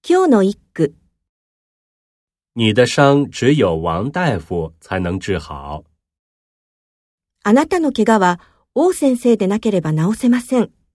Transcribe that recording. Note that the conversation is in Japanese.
今日の一句。 你的伤只有王大夫才能治好。 あなたの怪我は王先生でなければ治せません。